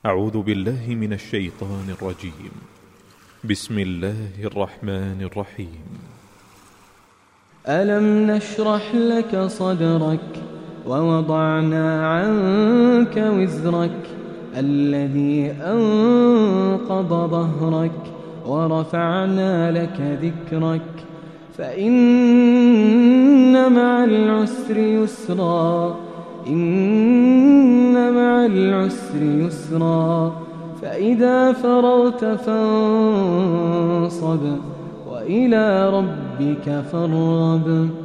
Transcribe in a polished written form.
أعوذ بالله من الشيطان الرجيم. بسم الله الرحمن الرحيم. ألم نشرح لك صدرك ووضعنا عنك وزرك الذي أنقض ظهرك ورفعنا لك ذكرك فإن مع العسر يسرا إن مع العسر يسرا فإذا فرغت فانصب وإلى ربك فارغب